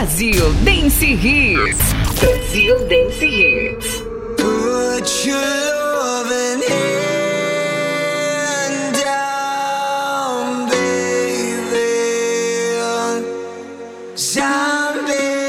Brasil Dance Hits. Brasil Dance Hits. Put your loving hand down, baby. I'm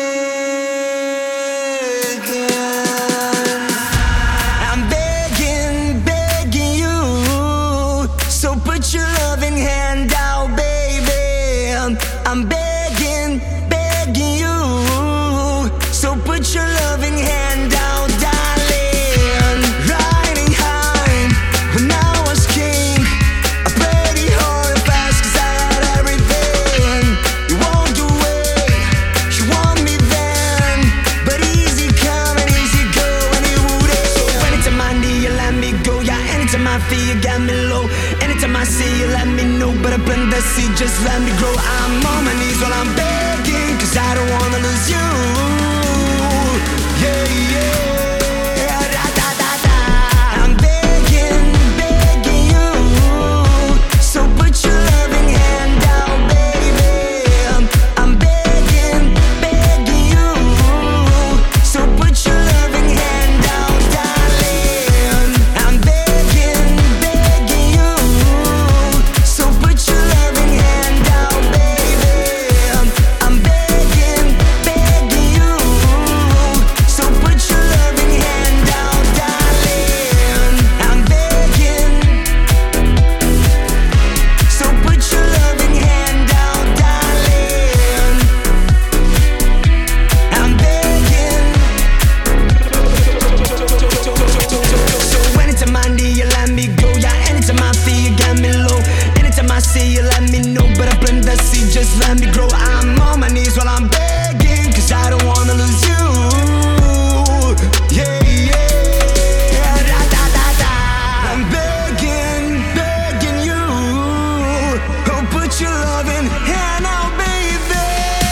begging you. So put your loving hand out, baby. I'm begging you. So put your loving hand out, darling. Riding high when I was king. I played it hard and fast 'cause I had everything. You walked away, you want me then. But easy come and easy go, and it wouldn't. So anytime I need you, let me go. Yeah, anytime I feel you got me low. Anytime I see you, let me know. But I plant the seed, just let me grow. I'm on my knees while I'm begging, 'cause I don't wanna lose you. Yeah, yeah, da, da, da, da. I'm begging you. So put your loving hand out, baby. I'm begging you. So put your loving hand out, darling. I'm begging you. So put your loving hand out, baby. I'm begging you. So put your loving hand out, darling. I'm begging. So put your loving hand out, darling. I'm begging. So anytime I need you, let me go. Yeah, anytime I feel you got me low. Anytime I see you, let me know. But I plant the seed, just let me grow. I'm on my knees while I'm begging, 'cause I don't wanna lose you. Yeah, yeah, da, da, da, da. I'm begging you. Oh, put your loving hand out, baby.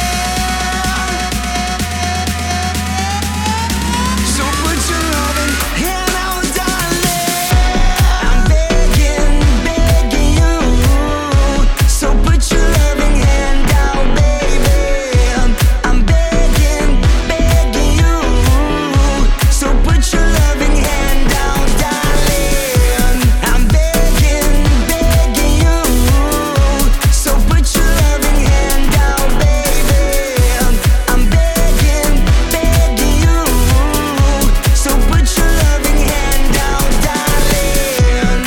So put your loving hand out, darling. I'm begging you. So put your loving hand out, baby. I'm begging you. So put your loving hand out, darling. I'm begging you. So put your loving hand out, baby. I'm begging you. So put your loving hand out, darling.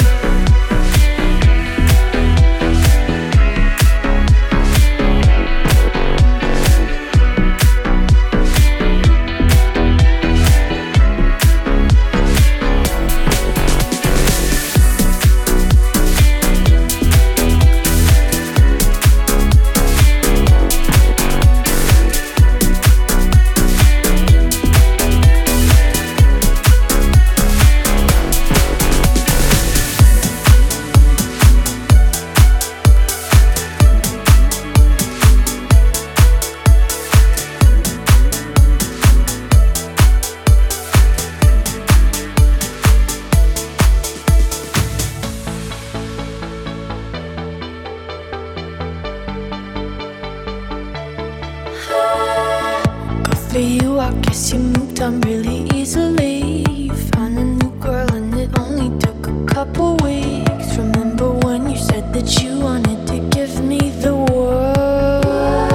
Good for you, I guess you moved on really easily. You found a new girl and it only took a couple weeks. Remember when you said that you wanted to give me the world?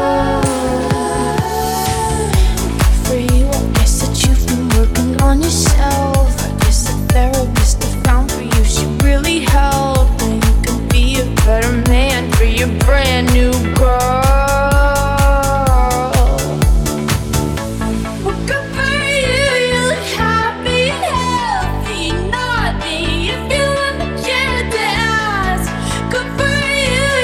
Good for you, I guess that you've been working on yourself. I guess the therapist I found for you, she really helped. And you can be a better man for your brand new girl. Good for you, you look happy and healthy, naughty. If you want the chance to ask, good for you,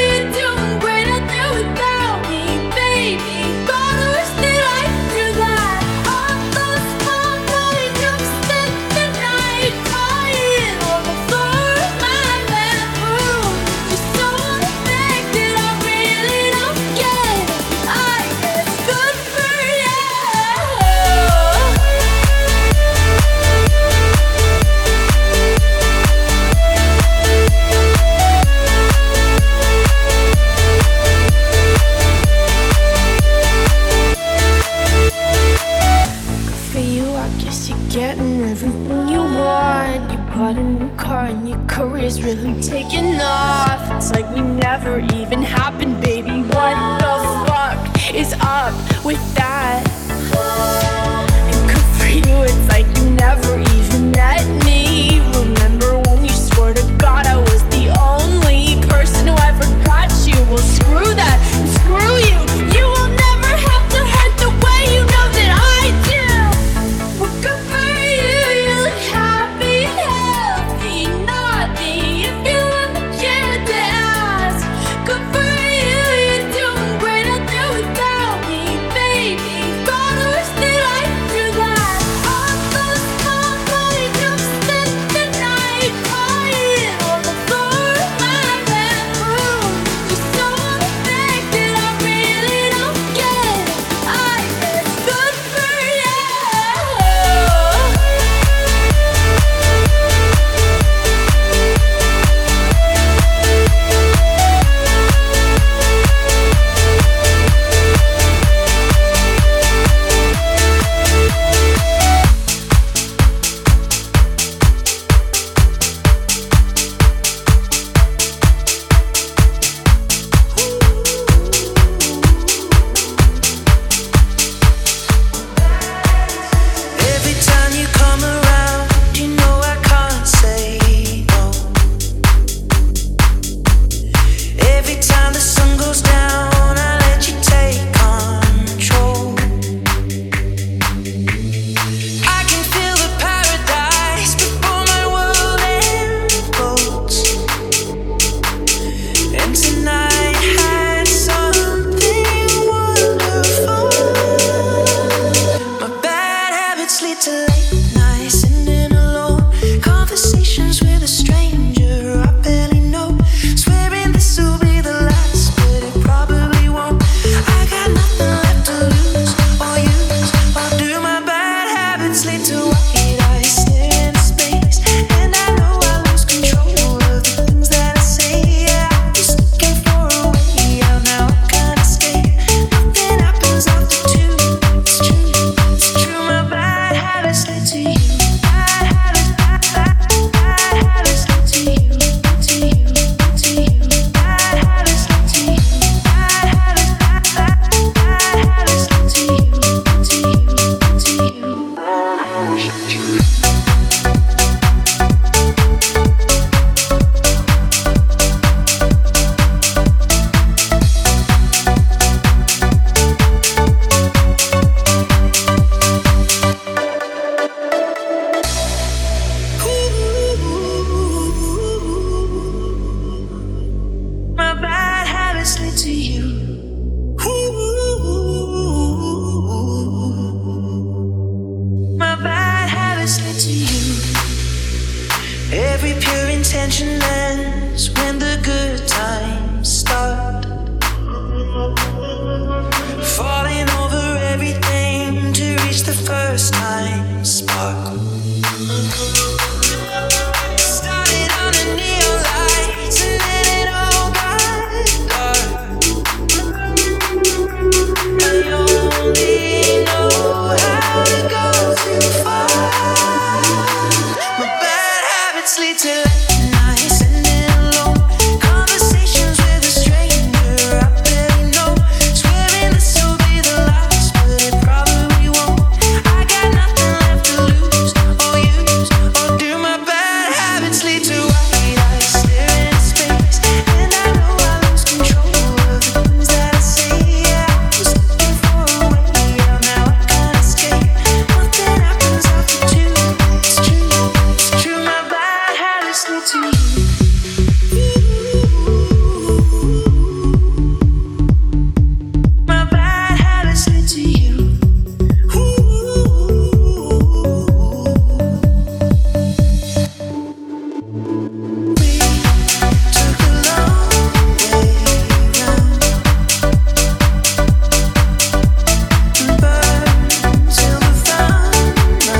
really taking off. It's like we never even happened, baby. What the fuck is up with that? And good for you, it's like you never even met me. Remember when you swore to God I was the only person who ever got you? Well, screw that and screw you. You will never have to hurt the way you know that I do. Well, good for you, you look happy, healthy, naughty. If you want the kid to ask, good for you, you're doing great out there without me, baby. Gotta wish that I knew that. All those small money jumps in the night, crying on the floor of my bedroom. You're so unaffected, I really don't get it. I guess good for you. Every time you come around, you know I can't say no. Every time the sun goes down, I let you take control. I can feel the paradise before my world implodes. And tonight had something wonderful. My bad habits lead to late nights, sitting alone. Conversations with a stranger I barely know. Swearing this will be the last, but it probably won't. I got nothing left to lose or use or do. My bad habits lead to white eyes staring into space, and I know I lose control of the things that I say. Yeah, I was looking for a way out, now I can't escape. Nothing happens after two. It's true, it's true. My bad habits lead to you. Bad habits lead to you, to you, to you. Bad habits lead to you. Bad habits lead to you, to you, to you. My bad habits lead to you. My bad habits lead to you. Every pure intention ends when the good times start. Falling over everything to reach the first time spark. Started on a neon lights and then it all got dark. I only know how to go too far. My bad habits lead to late nights, sitting alone. Conversations with a stranger I barely know. Swearing this will be the last, but it probably won't. I got nothing left to lose or use or do. My bad habits lead to white eyes staring into space, and I know I lose control of the things that I say. Yeah, I was looking for a way out, now I can't escape. Nothing happens after two. It's true, it's true. My bad habits lead to you. My bad habits lead to you. We took a long way round and burned till we found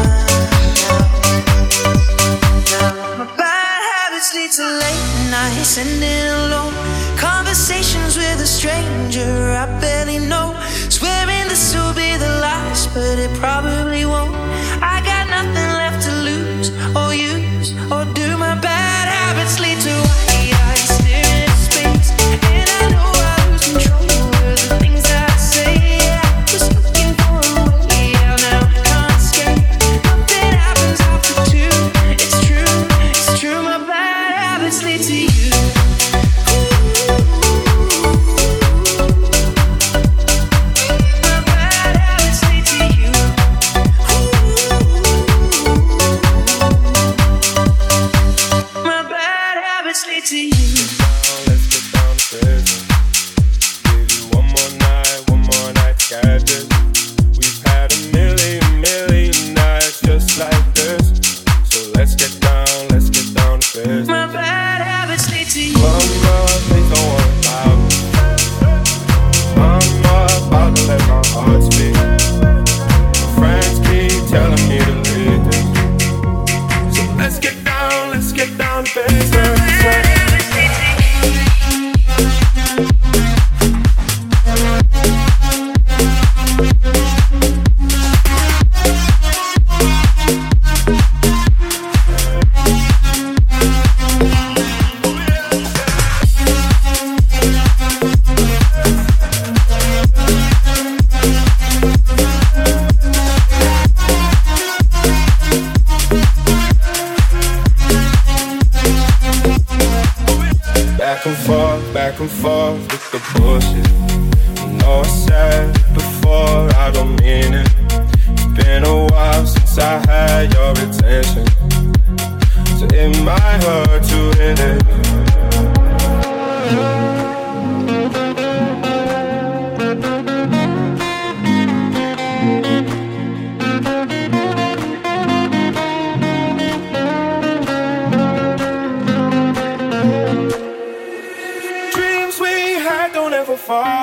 my bad habits lead to late nights, sitting alone. Conversations with a stranger I barely know. Swearing this will be the last, but it probably won't. I got nothing left to lose or use or do. My bad habits lead to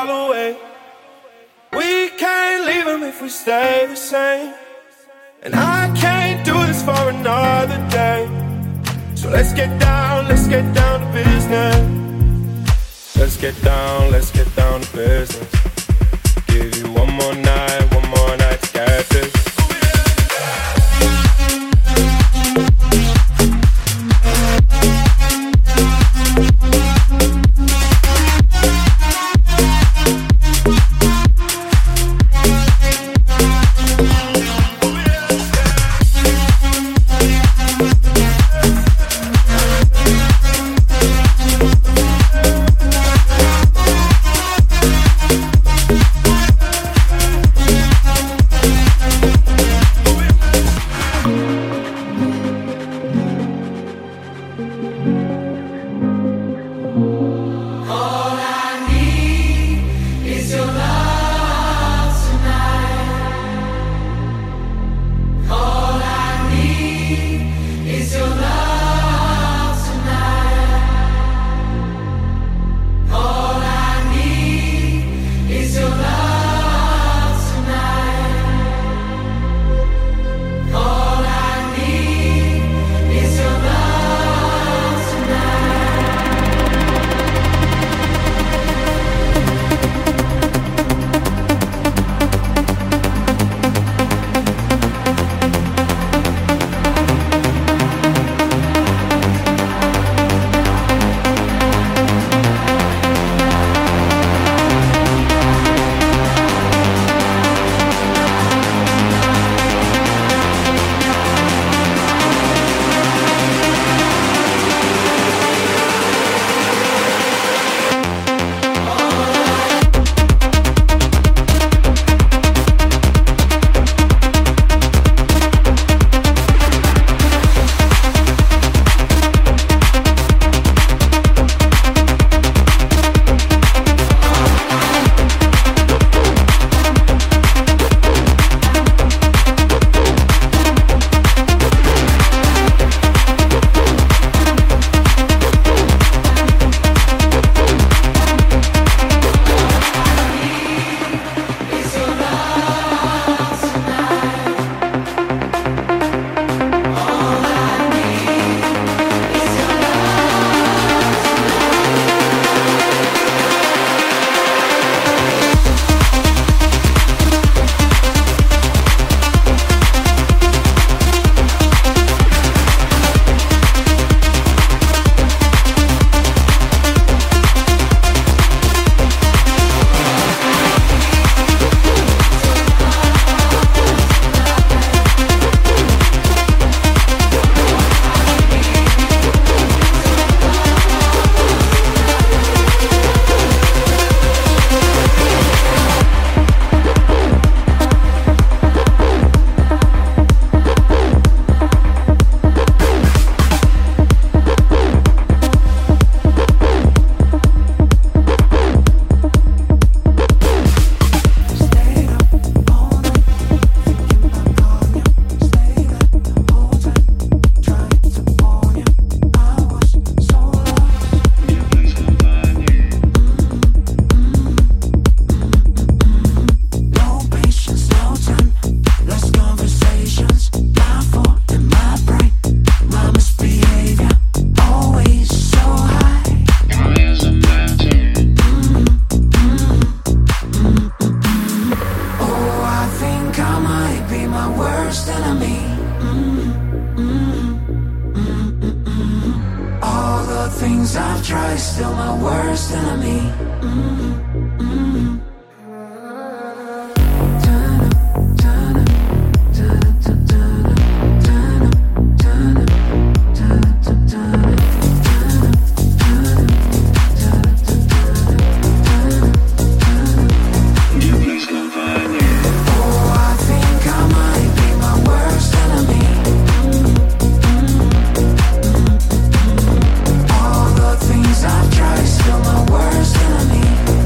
far away. We can't leave them if we stay the same. And I can't do this for another day. So let's get down to business. Let's get down to business. Give you one more night to get this. Still my worst enemy.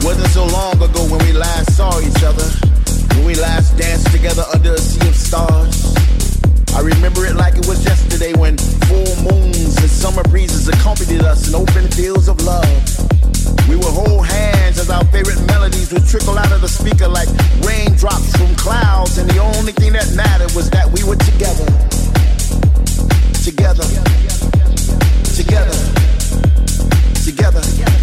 Wasn't so long ago when we last saw each other, when we last danced together under a sea of stars. I remember it like it was yesterday when full moons and summer breezes accompanied us in open fields of love. We would hold hands as our favorite melodies would trickle out of the speaker like raindrops from clouds, and the only thing that mattered was that we were together. Together. Together. Together.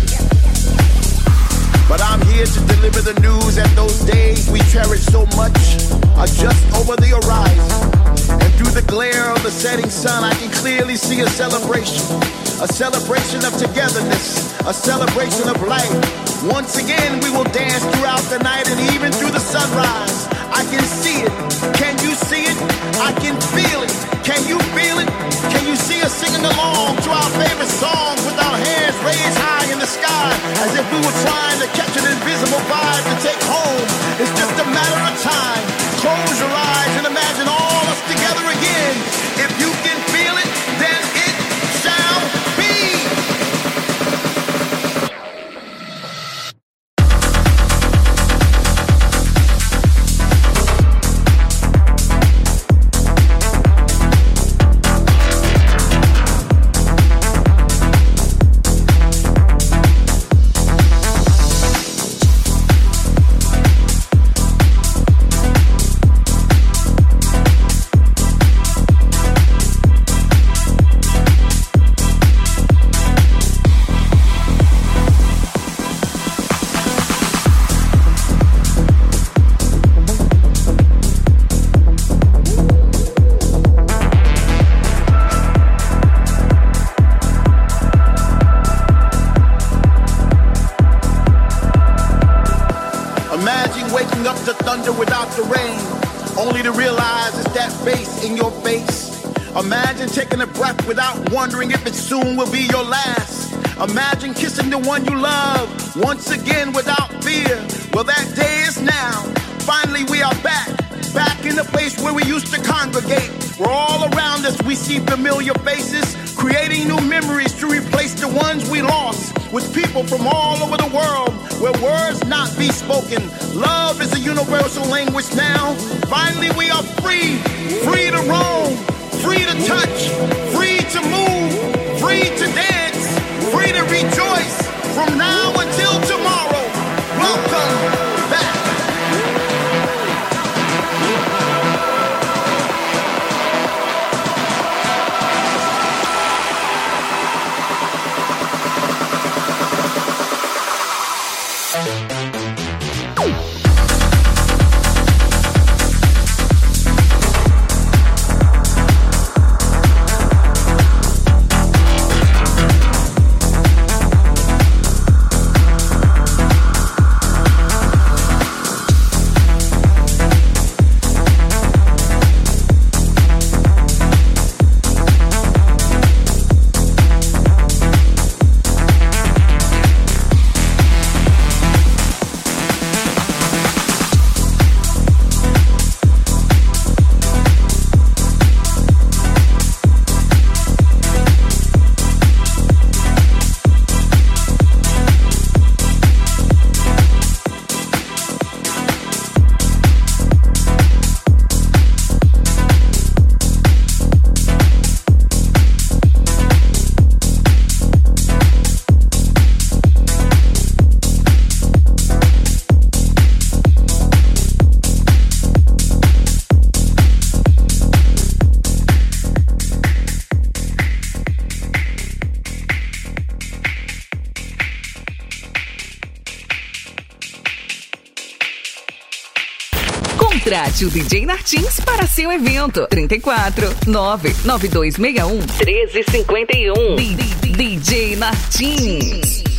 But I'm here to deliver the news that those days we cherish so much are just over the horizon. And through the glare of the setting sun, I can clearly see a celebration of togetherness, a celebration of life. Once again, we will dance throughout the night and even through the sunrise. I can see it. Can you see it? I can feel it. Can you feel it? Can you see us singing along to our favorite songs with our hands raised high in the sky as if we were trying to catch an invisible vibe to take home? It's just a matter of time. Close your eyes and imagine all us together again. If you can feel it, then it shall be. Wondering if it soon will be your last. Imagine kissing the one you love once again without fear. Well, that day is now. Finally, we are back in the place where we used to congregate. Where all around us we see familiar faces, creating new memories to replace the ones we lost. With people from all over the world, where words not be spoken. Love is a universal language now. Finally, we are free to roam. Free to touch, free to move, free to dance, free to rejoice from now until tomorrow. Welcome back. Contrate o DJ Nartins para seu evento. 34 99261 1351. DJ Nartins.